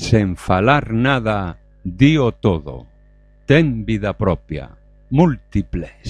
sen falar nada, dío todo. Ten vida propia, múltiples.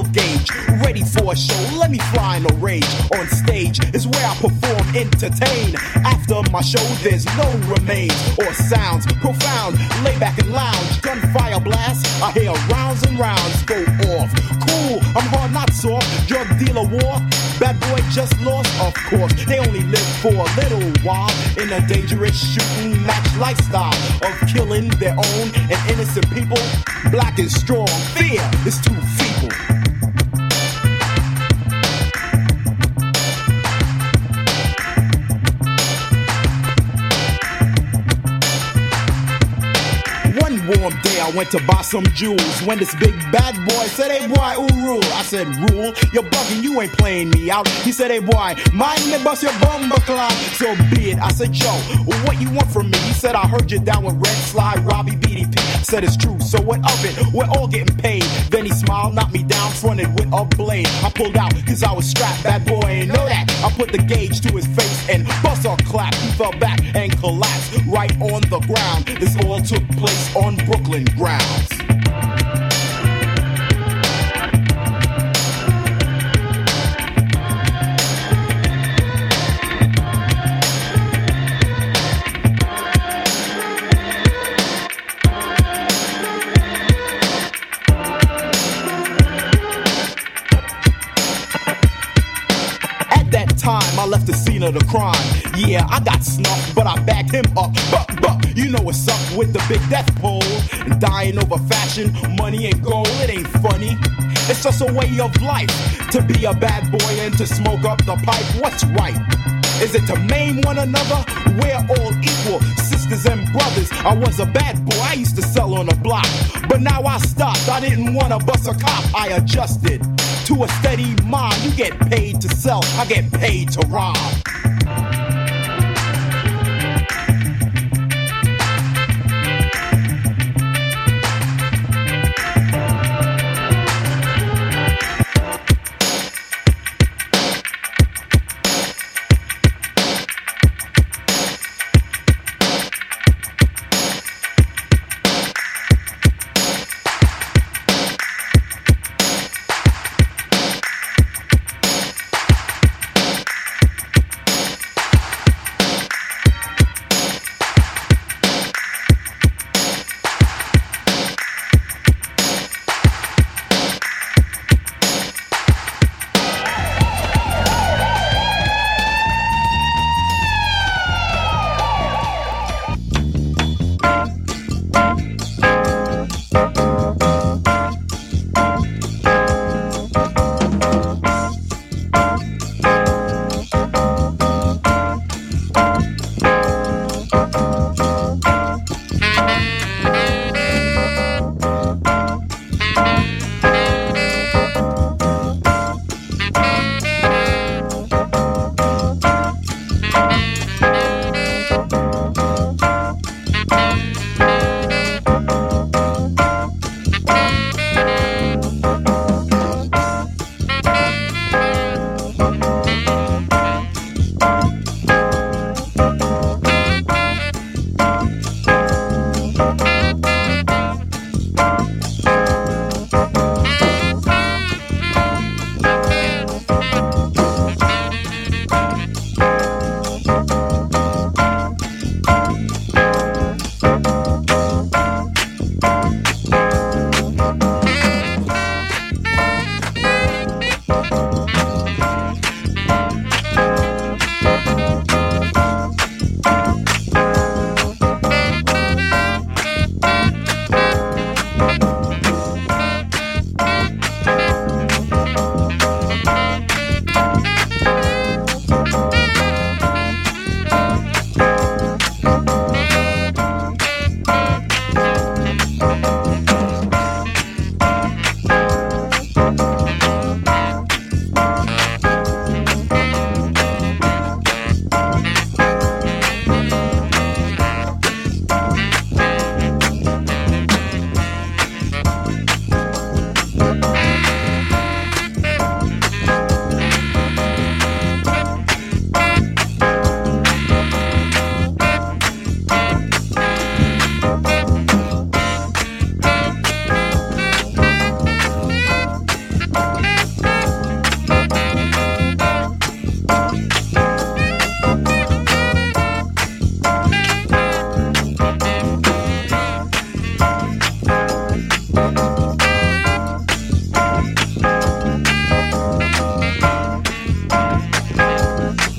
gauge, ready for a show. Let me fly in a rage. On stage is where I perform, entertain. After my show, there's no remains or sounds. Profound, lay back and lounge. Gunfire blast, I hear rounds and rounds go off. Cool, I'm hard, not soft. Drug dealer war, bad boy just lost. Of course, they only live for a little while in a dangerous shooting match lifestyle of killing their own and innocent people. Black is strong, fear is too feeble. One warm day I went to buy some jewels when this big bad boy said, hey boy, who rule? I said, rule? You're bugging, you ain't playing me out. He said, hey boy, mind me bust your bumper clock. So be it. I said, Joe, what you want from me? He said, I heard you down with Red Slide, Robbie BDP. I said, it's true, so what of it? We're all getting paid. Then he smiled, knocked me down, fronted with a blade. I pulled out, cause I was strapped, bad boy ain't know that. I put the gauge to his face and bust a clap. He fell back and collapsed right on the ground. This all took place on Brooklyn grounds. I left the scene of the crime. Yeah, I got snuffed, but I backed him up. But you know what's up with the big death pole. Dying over fashion, money and gold, it ain't funny. It's just a way of life to be a bad boy and to smoke up the pipe. What's right? Is it to maim one another? We're all equal, sisters and brothers. I was a bad boy, I used to sell on the block. But now I stopped, I didn't want to bust a cop. I adjusted to a steady mind. You get paid to sell, I get paid to rob.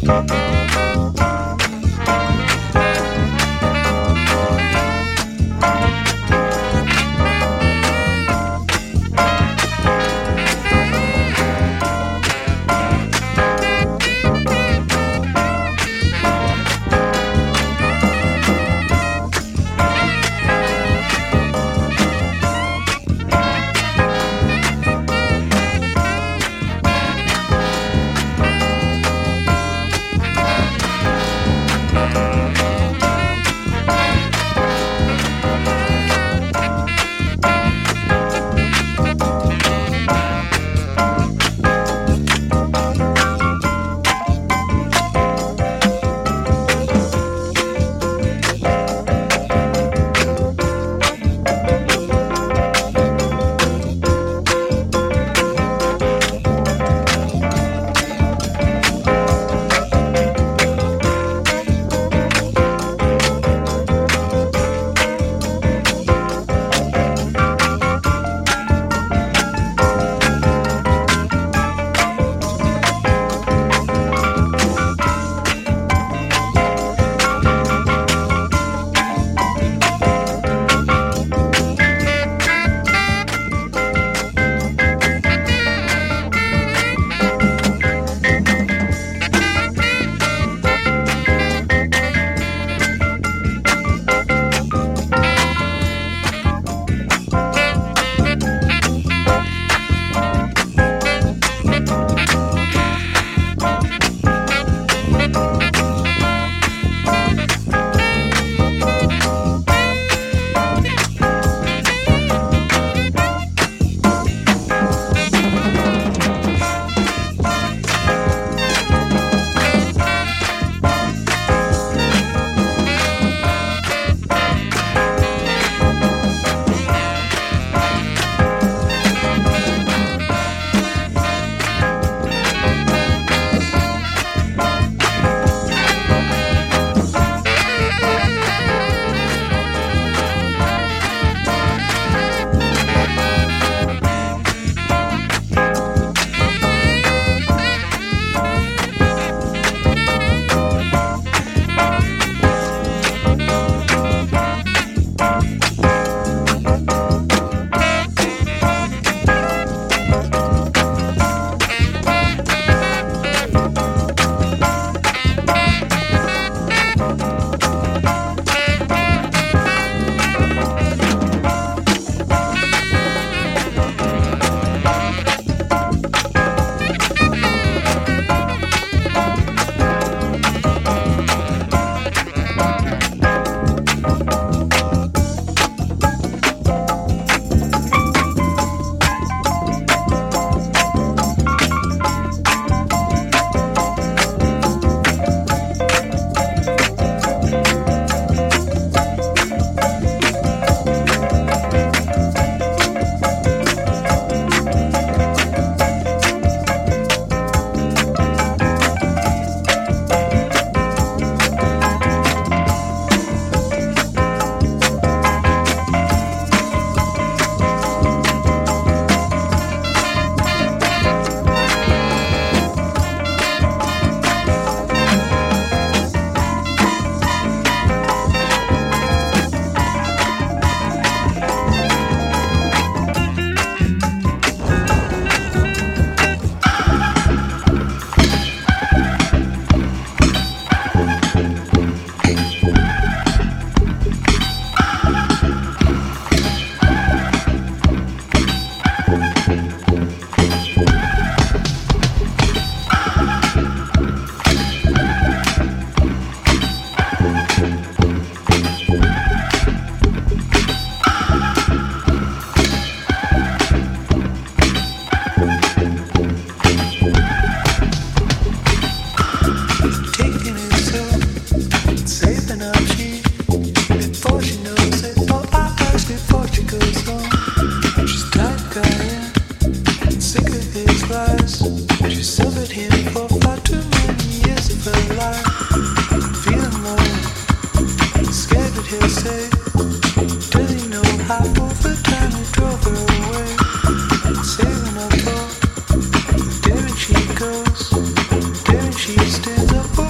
She stands up.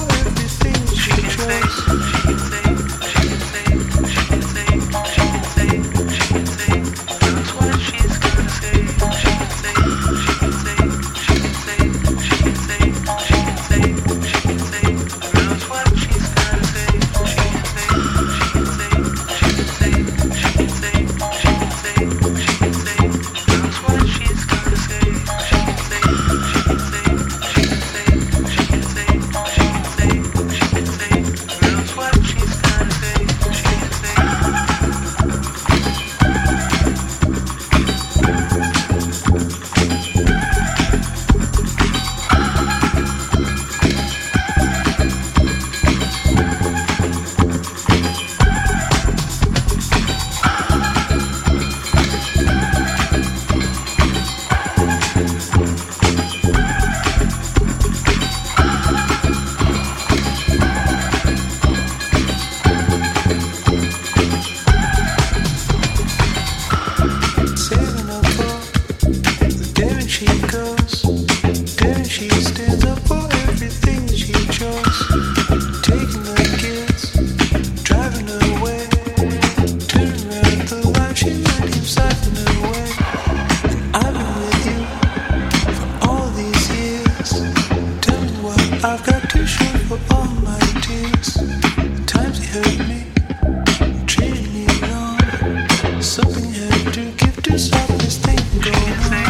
I've got tissue for all my tears. Times they hurt me, treated me wrong. Something had to give to stop this thing going on.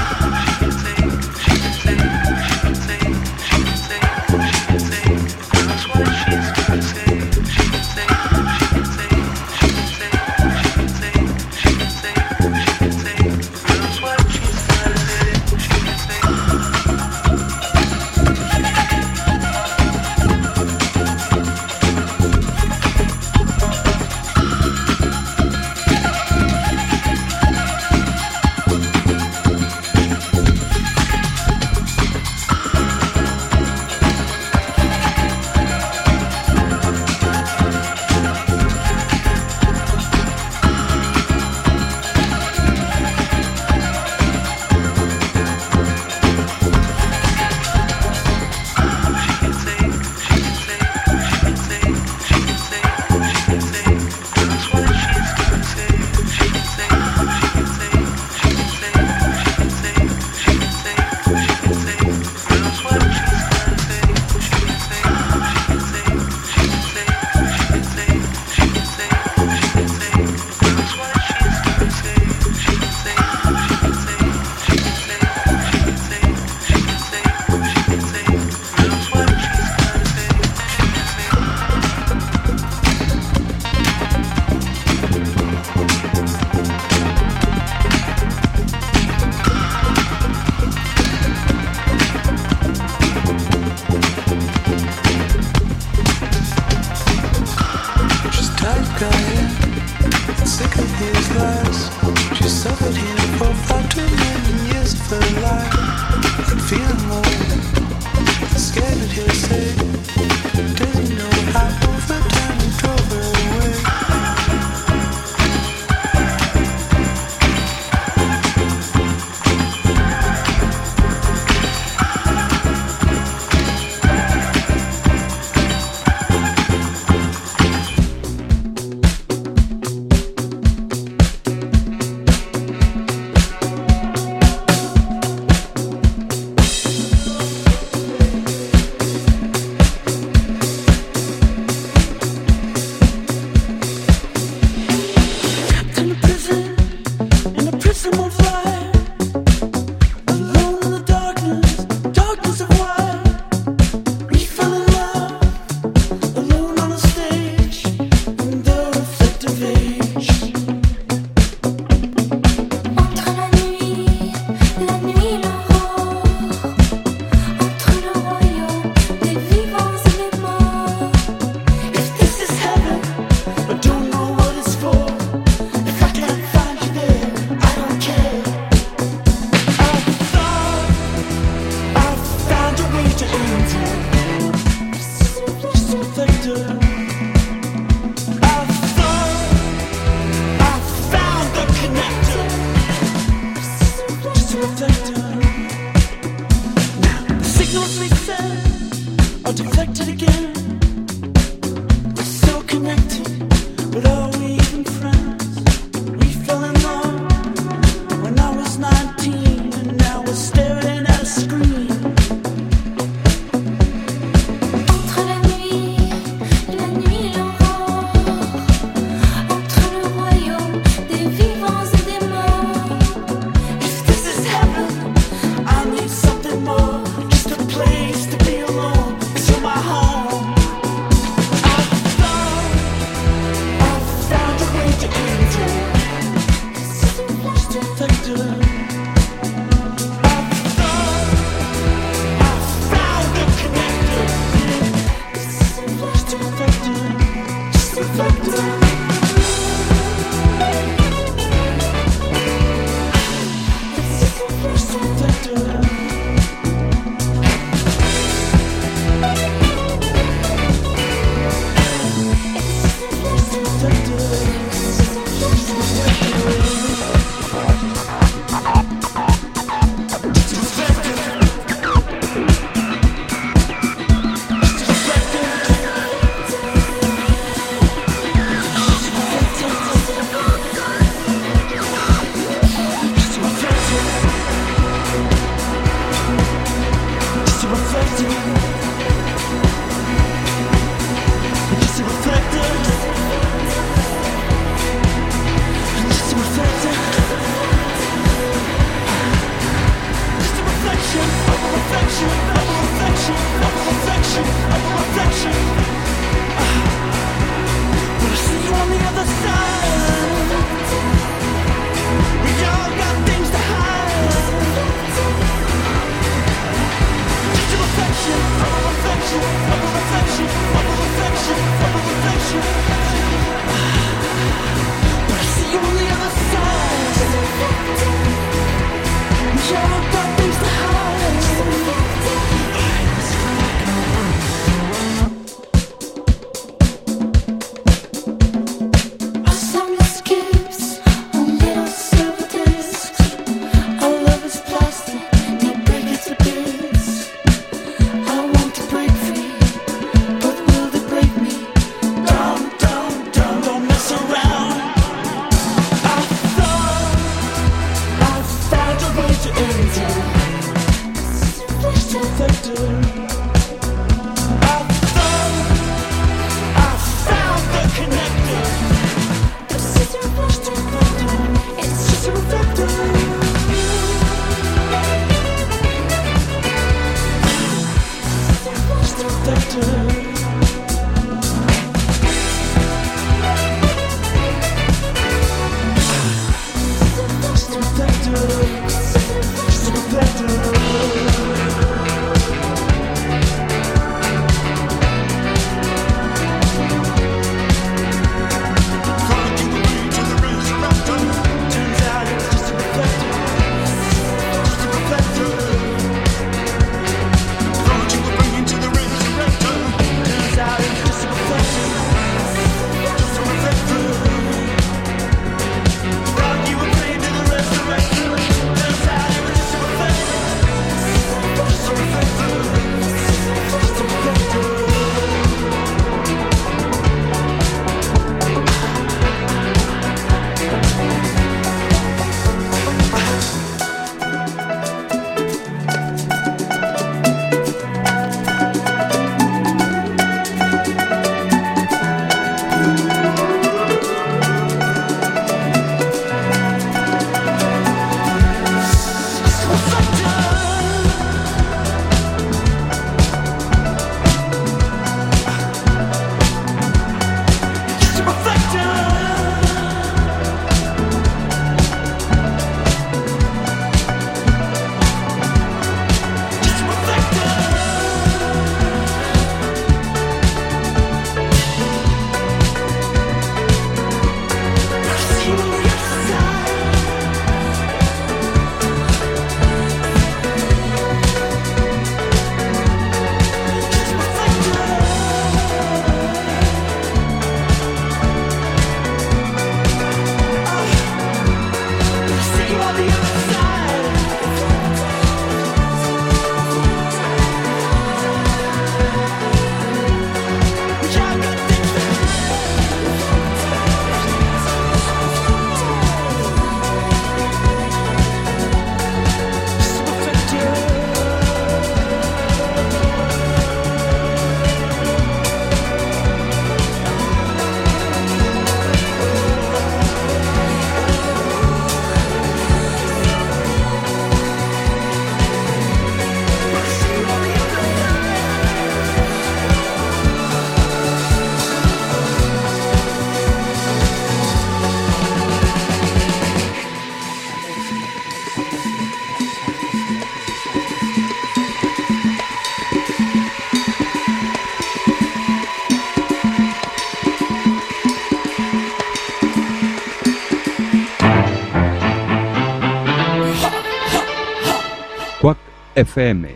FM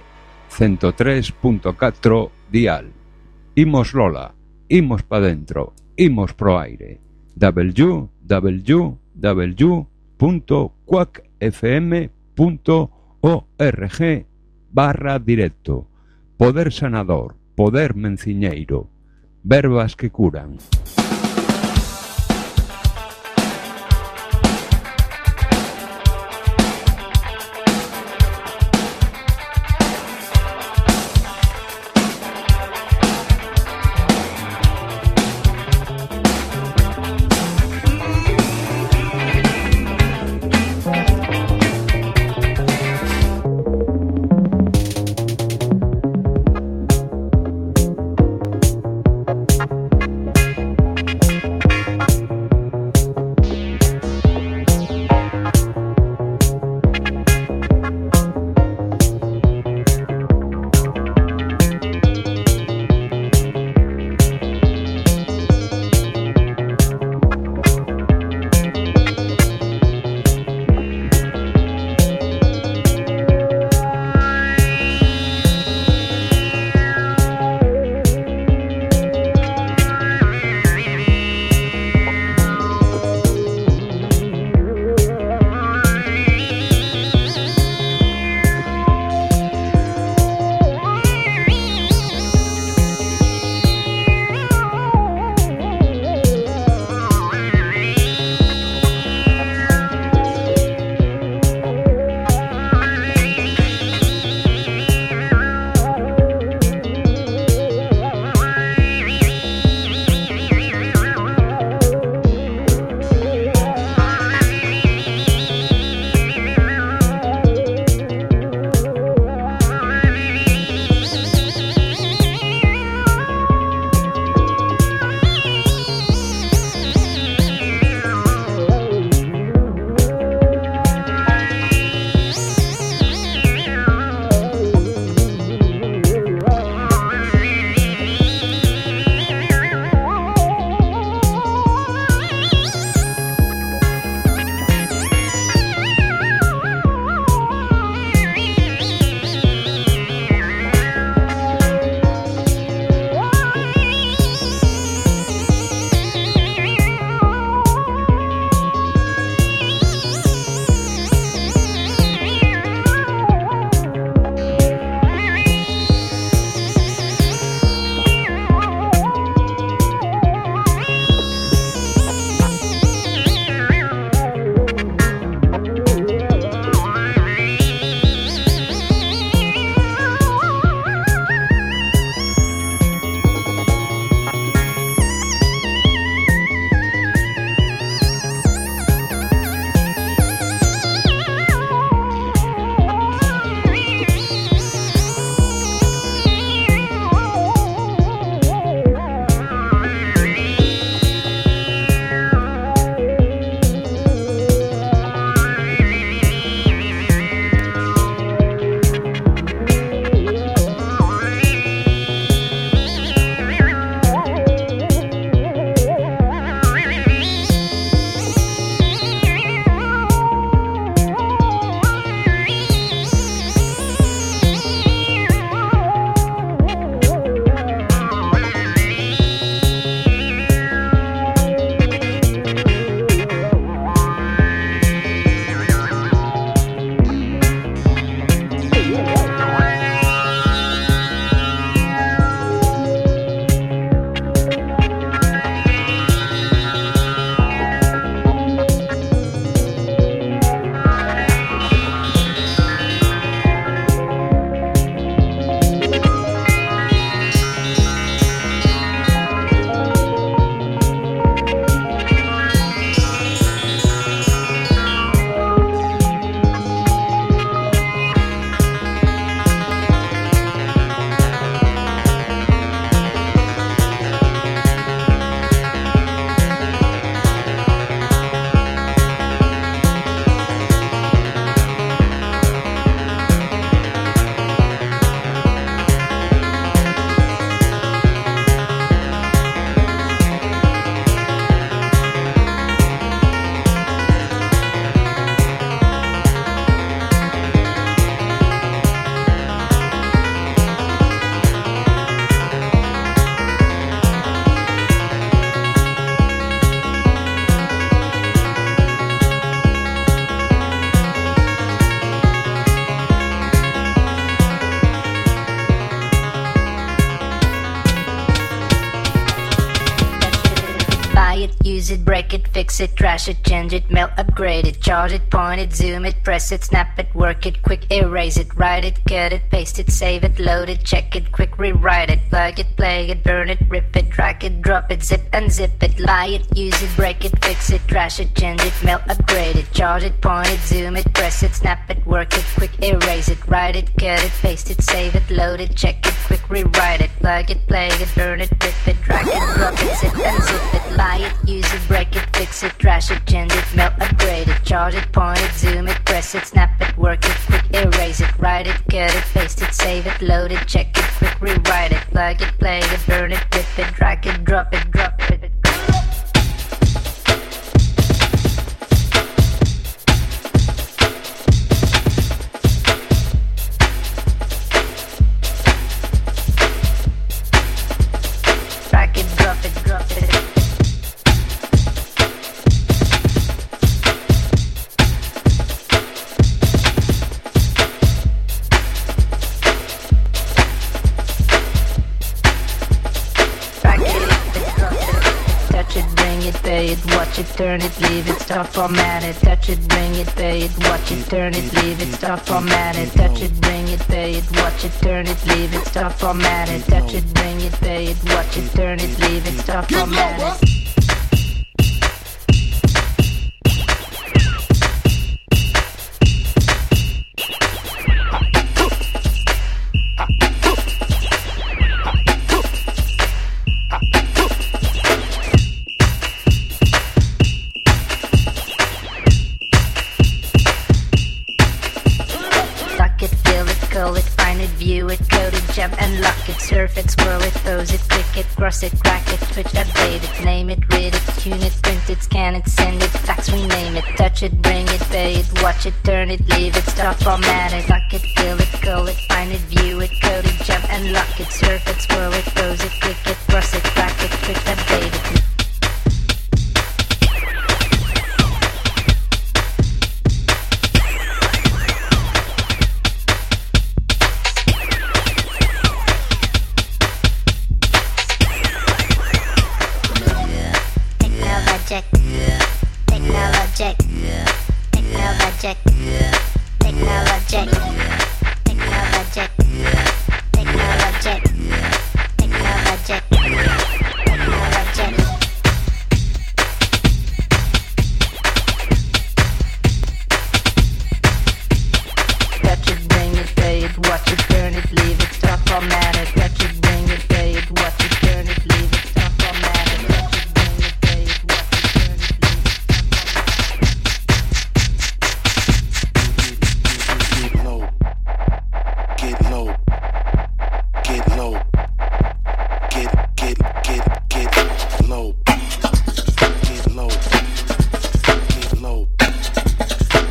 103.4 dial. Imos Lola, imos pa dentro, imos pro aire. www.quackfm.org/directo. Poder sanador, poder menciñeiro, verbas que curan. use it, break it, fix it, trash it, change it, melt, upgrade it, charge it, point it, zoom it, press it, snap it, work it, quick erase it, write it, cut it, paste it, save it, load it, check it, quick rewrite it, plug it, play it, burn it, rip it, drag it, drop it, zip unzip it, lie it, use it, break it, fix it, trash it, change it, melt, upgrade it, charge it, point it, zoom it, press it, snap it, work it, quick erase it, write it, cut it, paste it, save it, load it, check it, quick rewrite it, plug it, play it, burn it, rip it, drag it, drop it, zip unzip it, lie it, use it, break it, fix it, trash it, change it, melt, upgrade it, charge it, point it, zoom it, press it, snap it, work it, quick erase it, write it, cut it, paste it, save it, load it, check it, quick rewrite it, plug it, play it, burn it, rip it, drag it, drop it, drop it. Drag it, drop it, drop it. Pay it, watch it, turn it, leave it, stop, format it, touch it, bring it, pay it, watch it, turn it, leave it, stop, format it, touch it, bring it, pay it, watch it, turn it, leave it, stop, format it, touch it, bring it, pay it, watch it, turn it, leave it, stop, format it. Unlock it, surf it, scroll it, pose it, click it, cross it, crack it, switch, update it, name it, read it, tune it, print it, scan it, send it, fax, rename it, touch it, bring it, pay it, watch it, turn it, leave it, stop, format it, lock it, fill it, call it, find it, view it, code it, jump, unlock it, surf it, scroll it, pose it, click it, cross it, crack it, switch, update it.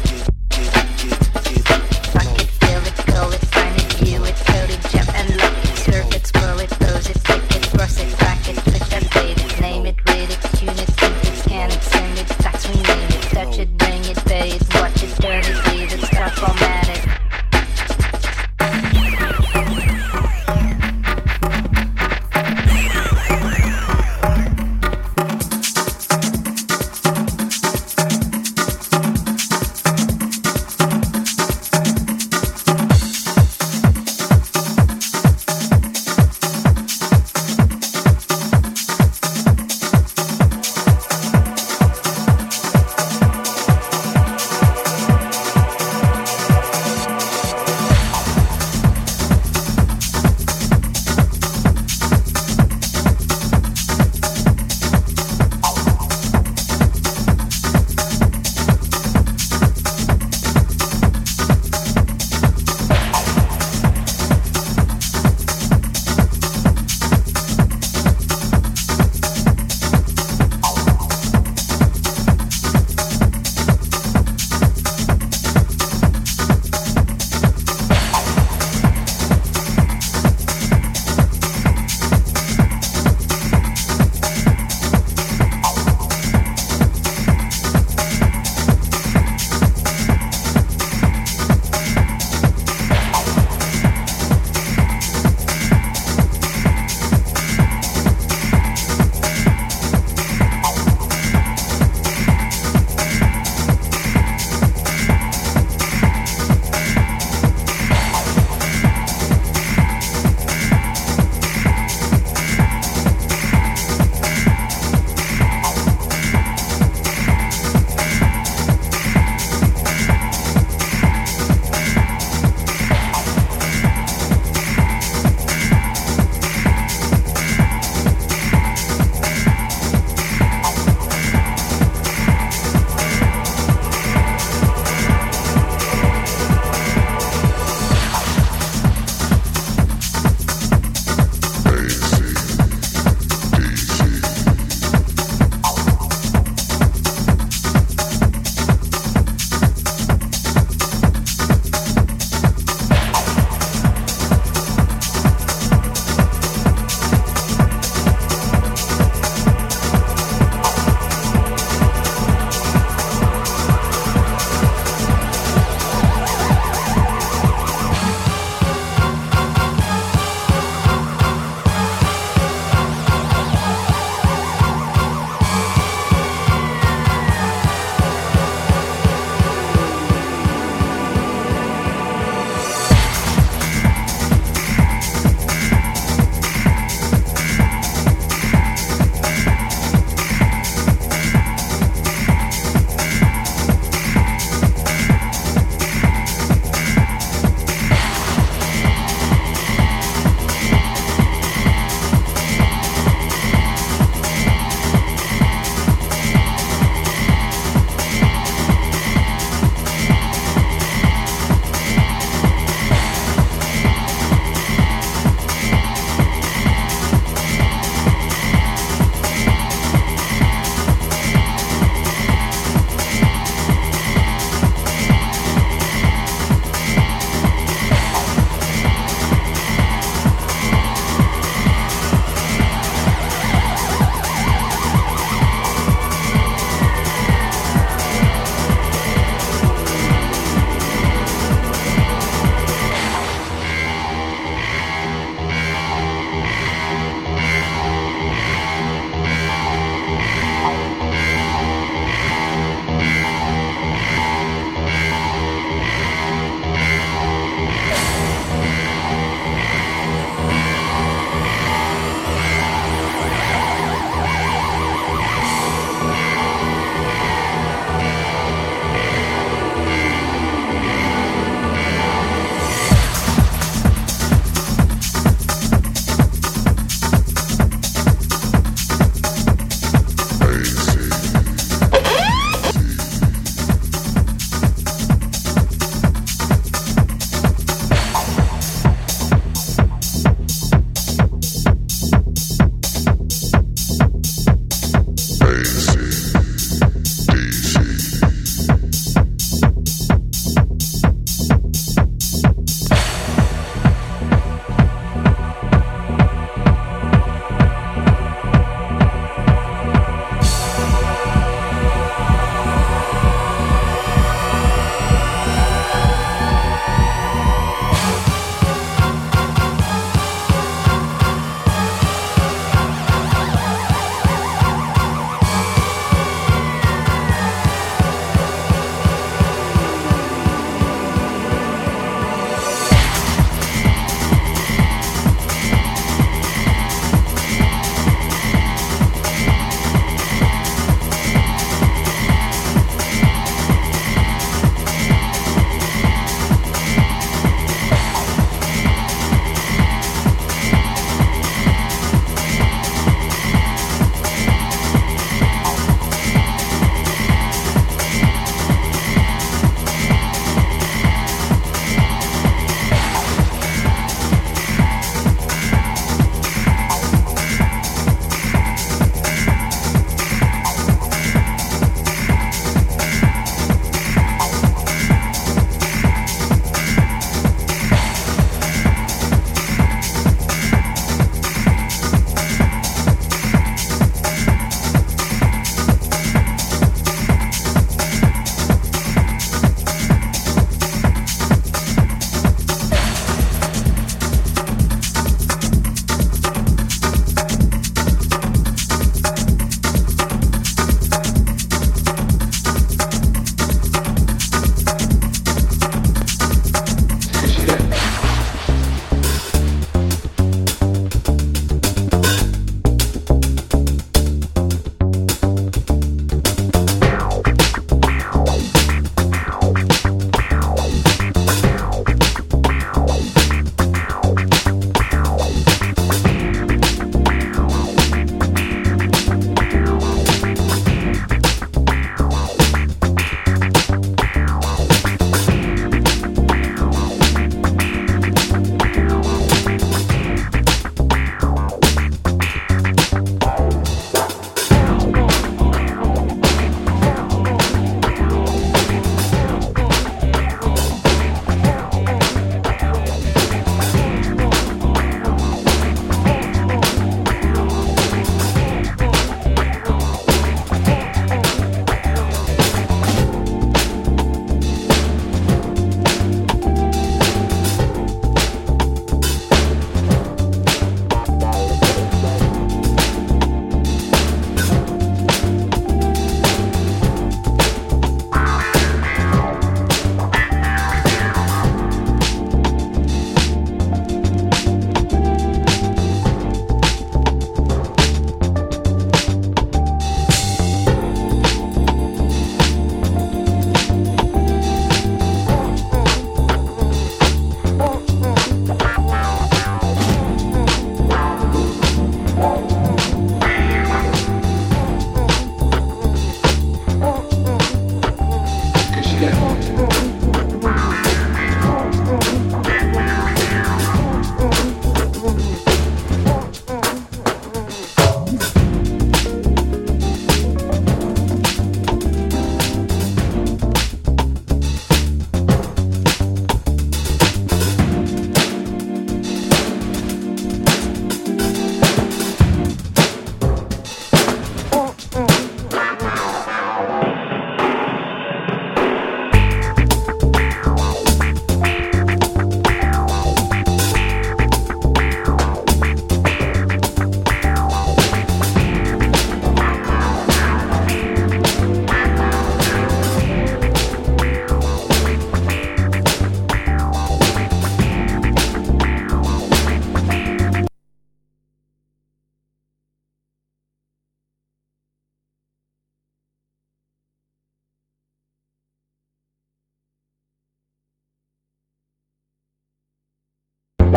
Jump and lock it.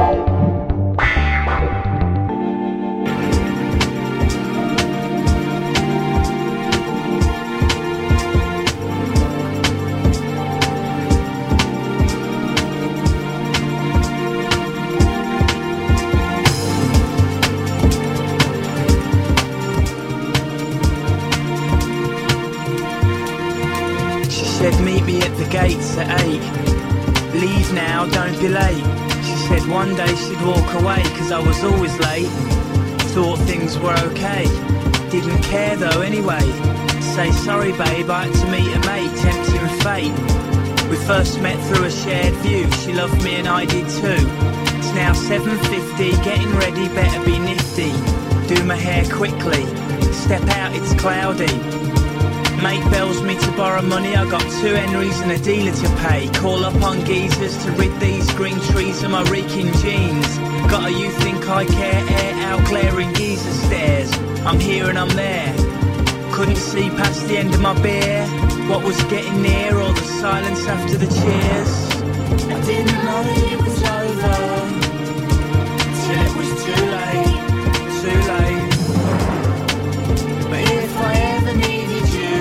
Meet me at the gates at 8. Leave now, don't be late. She said one day she'd walk away, cause I was always late. Thought things were okay, didn't care though anyway. Say sorry babe, I had to meet a mate, tempting fate. We first met through a shared view, she loved me and I did too. It's now 7:50, getting ready, better be nifty. Do my hair quickly, step out, it's cloudy. Mate bells me to borrow money, I got 2 Henrys and a dealer to pay. Call up on geezers to rid these green trees of my reeking jeans. Got a you think I care air out glaring geezer stares. I'm here and I'm there, couldn't see past the end of my beer. What was getting near, all the silence after the cheers. I didn't know that it was over, till it was too late, too late. But if I ever needed you,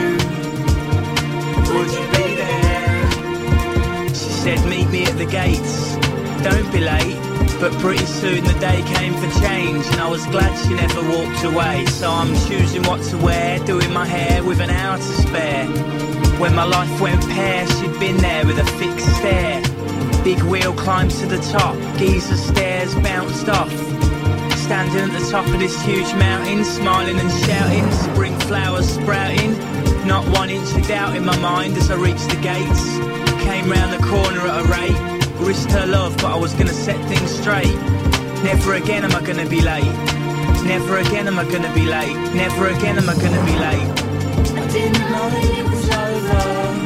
would you be there? She said meet me at the gates, don't be late. But pretty soon the day came for change, and I was glad she never walked away. So I'm choosing what to wear, doing my hair with an hour to spare. When my life went pear, she'd been there with a fixed stare. Big wheel climbed to the top, geezer stairs bounced off. Standing at the top of this huge mountain, smiling and shouting, spring flowers sprouting. Not 1 inch of doubt in my mind as I reached the gates. Came round the corner at a rate, risked her love but I was gonna set things straight. Never again am I gonna be late, never again am I gonna be late, never again am I gonna be late. I didn't know that it was over,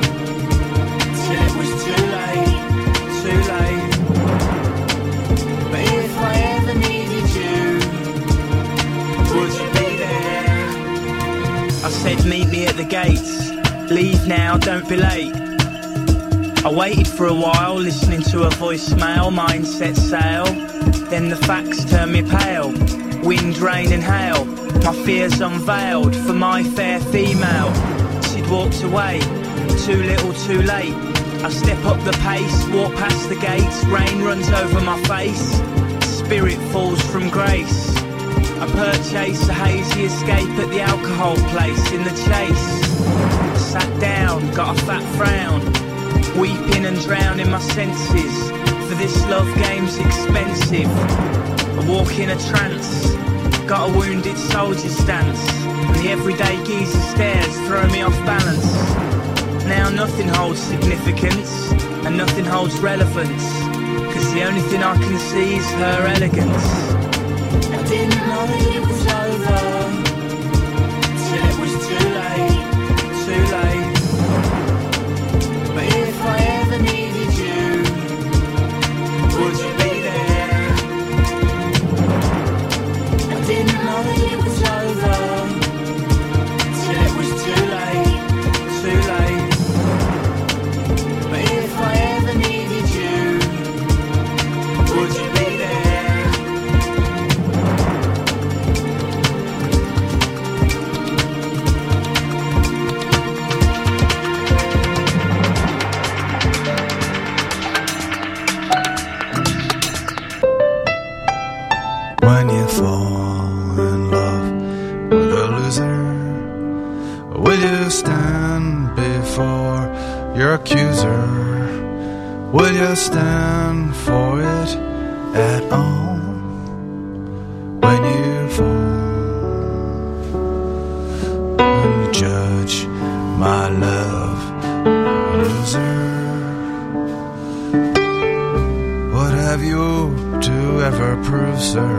till it was too late, too late. But if I ever needed you, would you be there? I said meet me at the gates, leave now, don't be late. I waited for a while, listening to a voicemail, mind set sail. Then the facts turned me pale, wind, rain and hail. My fears unveiled for my fair female. She'd walked away, too little too late. I step up the pace, walk past the gates, rain runs over my face. Spirit falls from grace. I purchase a hazy escape at the alcohol place in the chase. I sat down, got a fat frown, weeping and drowning my senses. For this love game's expensive. I walk in a trance, got a wounded soldier stance, and the everyday geezer stares throw me off balance. Now nothing holds significance, and nothing holds relevance, cause the only thing I can see is her elegance. I didn't know that it was over, till it was too late, too late. But if I ever needed you, would you be there? I didn't know that it was over, till it was too late, too late. But if I ever needed you, would you be there? When you fall in love with a loser, will you stand before your accuser? Will you stand for it at all? When you fall, when you judge my love a loser, what have you to ever prove, sir?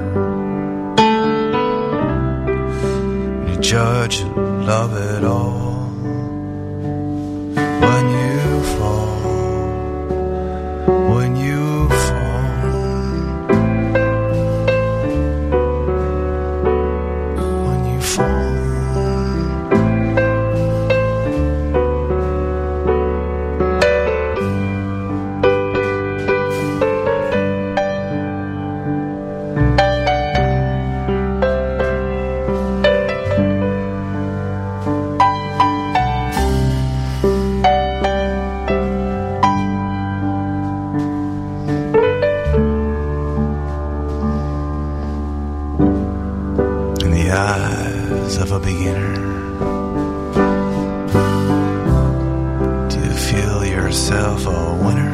You judge love at all. When you fall, when you fall, when you fall. eyes of a beginner? Do you feel yourself a winner?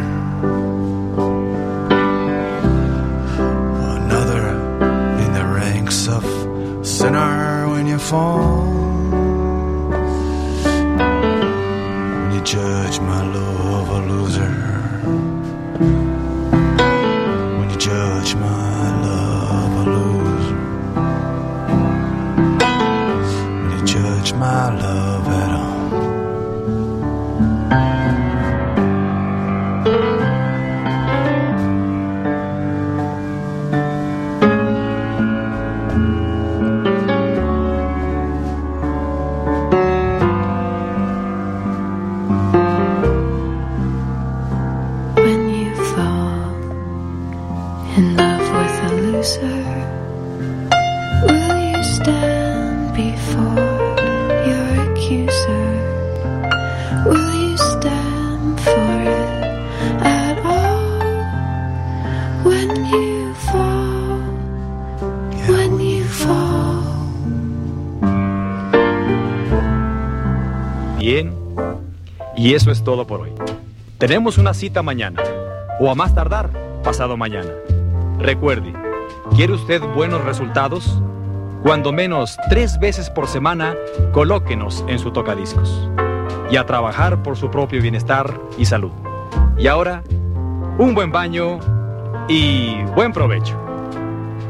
Another in the ranks of sinner when you fall? When you judge my love a loser? When you judge my love a loser? When you judge my love at all? Bien, y eso es todo por hoy. Tenemos una cita mañana, o a más tardar, pasado mañana. Recuerde, ¿quiere usted buenos resultados? Cuando menos 3 veces por semana, colóquenos en su tocadiscos. Y a trabajar por su propio bienestar y salud. Y ahora, un buen baño y buen provecho.